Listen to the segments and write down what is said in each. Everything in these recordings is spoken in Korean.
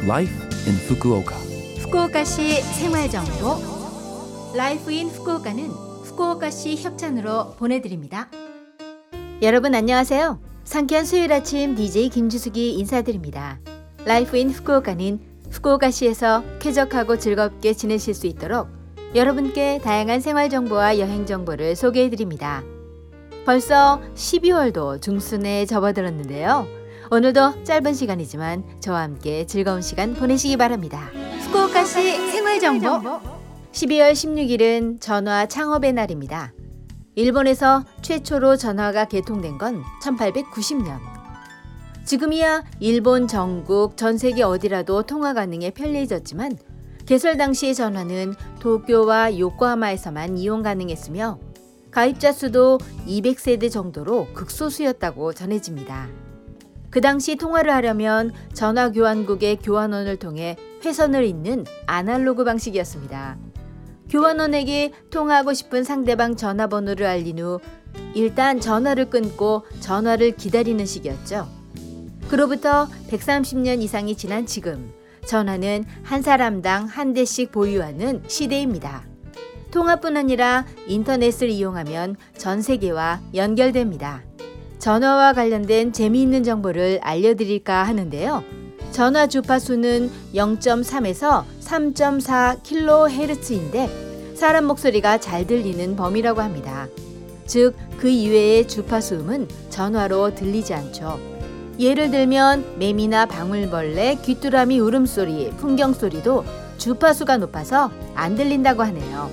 Life in Fukuoka. 후쿠오카시 생활정보 라이프 인 후쿠오카는 후쿠오카시 협찬으로 보내드립니다. 여러분 안녕하세요. 상쾌한 수요일 아침 DJ 김주숙이 인사드립니다. 라이프 인 후쿠오카는 후쿠오카시에서 쾌적하고 즐겁게 지내실 수 있도록 여러분께 다양한 생활정보와 여행정보를 소개해드립니다. 벌써 12월도 중순에 접어들었는데요. 오늘도 짧은 시간이지만 저와 함께 즐거운 시간 보내시기 바랍니다. 후쿠오카시 생활정보 12월 16일은 전화 창업의 날입니다. 일본에서 최초로 전화가 개통된 건 1890년. 지금이야 일본 전국 전 세계 어디라도 통화 가능해 편리해졌지만 개설 당시의 전화는 도쿄와 요코하마에서만 이용 가능했으며 가입자 수도 200세대 정도로 극소수였다고 전해집니다. 그 당시 통화를 하려면 전화교환국의 교환원을 통해 회선을 잇는 아날로그 방식이었습니다. 교환원에게 통화하고 싶은 상대방 전화번호를 알린 후 일단 전화를 끊고 전화를 기다리는 식이었죠. 그로부터 130년 이상이 지난 지금 전화는 한 사람당 한 대씩 보유하는 시대입니다. 통화뿐 아니라 인터넷을 이용하면 전 세계와 연결됩니다. 전화와 관련된 재미있는 정보를 알려드릴까 하는데요. 전화 주파수는 0.3에서 3.4kHz인데 사람 목소리가 잘 들리는 범위라고 합니다. 즉, 그 이외의 주파수음은 전화로 들리지 않죠. 예를 들면 매미나 방울벌레, 귀뚜라미 울음소리, 풍경소리도 주파수가 높아서 안 들린다고 하네요.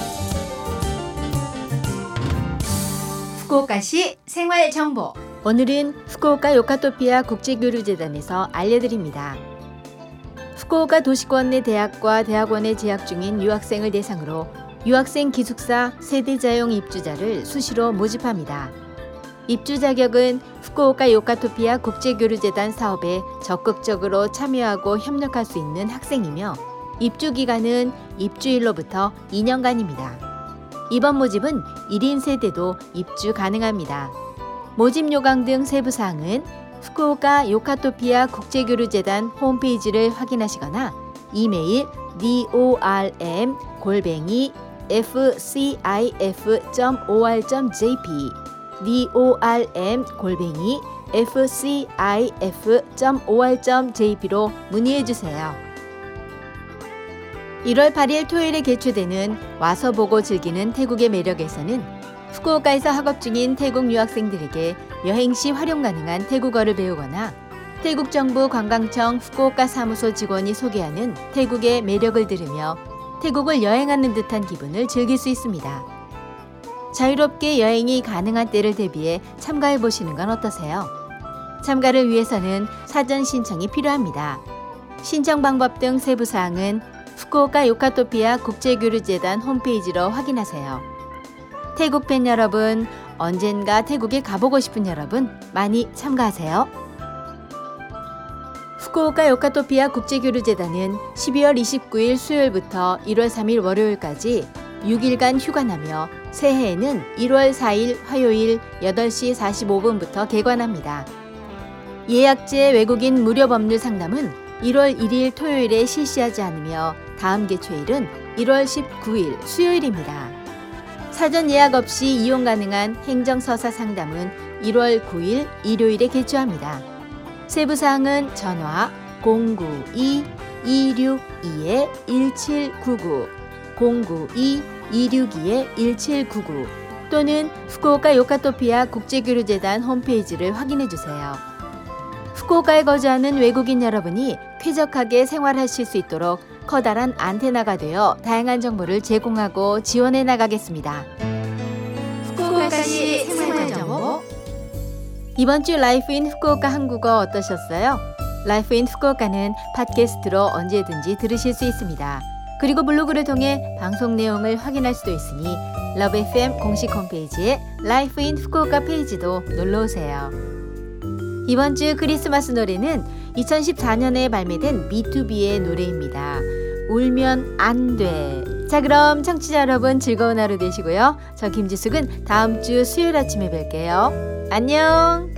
후쿠오카시 생활정보 오늘은 후쿠오카 요카토피아 국제교류재단에서 알려드립니다. 후쿠오카 도시권 내 대학과 대학원에 재학 중인 유학생을 대상으로 유학생 기숙사 세대자용 입주자를 수시로 모집합니다. 입주 자격은 후쿠오카 요카토피아 국제교류재단 사업에 적극적으로 참여하고 협력할 수 있는 학생이며 입주 기간은 입주일로부터 2년간입니다. 이번 모집은 1인 세대도 입주 가능합니다. 모집 요강 등 세부 사항은 후쿠오카 요카토피아 국제교류재단 홈페이지를 확인하시거나 이메일 dorm@fcif.or.jp dorm@fcif.or.jp로 문의해주세요. 1월 8일 토요일에 개최되는 와서 보고 즐기는 태국의 매력에서는 후쿠오카에서 학업 중인 태국 유학생들에게 여행 시 활용 가능한 태국어를 배우거나 태국 정부 관광청 후쿠오카 사무소 직원이 소개하는 태국의 매력을 들으며 태국을 여행하는 듯한 기분을 즐길 수 있습니다. 자유롭게 여행이 가능한 때를 대비해 참가해 보시는 건 어떠세요? 참가를 위해서는 사전 신청이 필요합니다. 신청 방법 등 세부 사항은 후쿠오카 요카토피아 국제교류재단 홈페이지로 확인하세요. 태국 팬 여러분, 언젠가 태국에 가보고 싶은 여러분 많이 참가하세요. 후쿠오카 요카토피아 국제교류재단은 12월 29일 수요일부터 1월 3일 월요일까지 6일간 휴관하며 새해에는 1월 4일 화요일 8시 45분부터 개관합니다. 예약제 외국인 무료 법률 상담은 1월 1일 토요일에 실시하지 않으며 다음 개최일은 1월 19일 수요일입니다. 사전 예약 없이 이용 가능한 행정서사 상담은 1월 9일 일요일에 개최합니다. 세부사항은 전화 092-262-1799, 092-262-1799 또는 후쿠오카 요카토피아 국제교류재단 홈페이지를 확인해주세요. 후쿠오카에 거주하는 외국인 여러분이 쾌적하게 생활하실 수 있도록 커다란 안테나가 되어 다양한 정보를 제공하고 지원해 나가겠습니다. 후쿠오카시 생활정보 이번 주 라이프 인 후쿠오카 한국어 어떠셨어요? 라이프 인 후쿠오카는 팟캐스트로 언제든지 들으실 수 있습니다. 그리고 블로그를 통해 방송 내용을 확인할 수도 있으니 러브 FM 공식 홈페이지에 라이프 인 후쿠오카 페이지도 놀러오세요. 이번 주 크리스마스 노래는 2014년에 발매된 B2B의 노래입니다. 울면 안 돼. 자, 그럼 청취자 여러분 즐거운 하루 되시고요. 저 김지숙은 다음 주 수요일 아침에 뵐게요. 안녕.